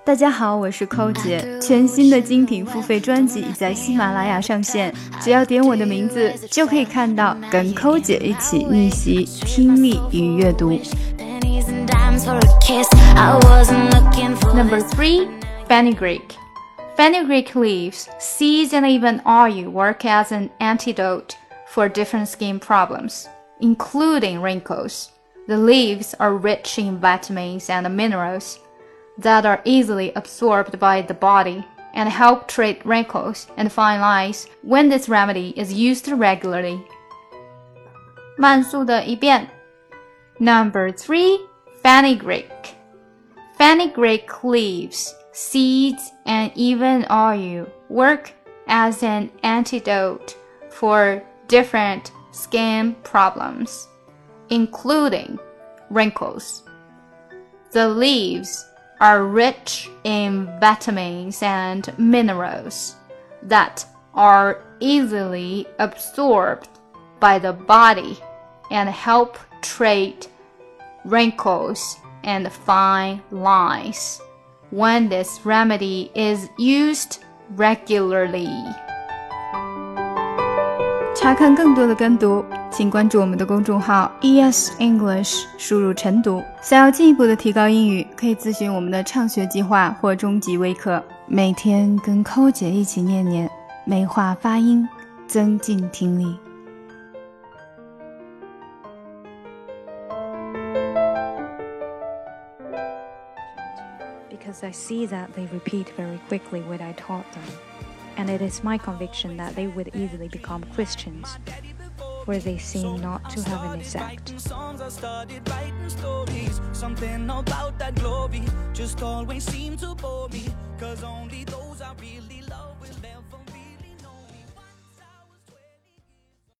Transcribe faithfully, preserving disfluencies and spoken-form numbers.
大家好，我是寇姐，全新的精品付费专辑已在喜马拉雅上线，只要点我的名字就可以看到跟寇姐一起逆袭听力与阅读。 Number three, Fenugreek. Fenugreek leaves, seeds and even oil work as an antidote for different skin problems, including wrinkles. The leaves are rich in vitamins and minerals that are easily absorbed by the body and help treat wrinkles and fine lines when this remedy is used regularly. 慢速的一遍。 Number three, Fenugreek. Fenugreek leaves, seeds, and even oil work as an antidote for different skin problems, including wrinkles. The leaves are rich in vitamins and minerals that are easily absorbed by the body and help treat wrinkles and fine lines when this remedy is used regularly. 查看更多的跟读，请关注我们的公众号 E S English， 输入晨读。想要进一步的提高英语，可以咨询我们的畅学计划或中级微课。每天跟寇姐一起念念，美化发音，增进听力。 Because I see that they repeat very quickly what I taught them, and it is my conviction that they would easily become Christians, where they seem not to have an effect. Something about that glory just always seemed to bore me, 'cause only those I really